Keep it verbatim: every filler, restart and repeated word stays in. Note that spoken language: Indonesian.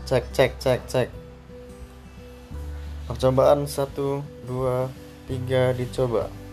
Cek, cek, cek, cek. Percobaan satu, dua, tiga dicoba.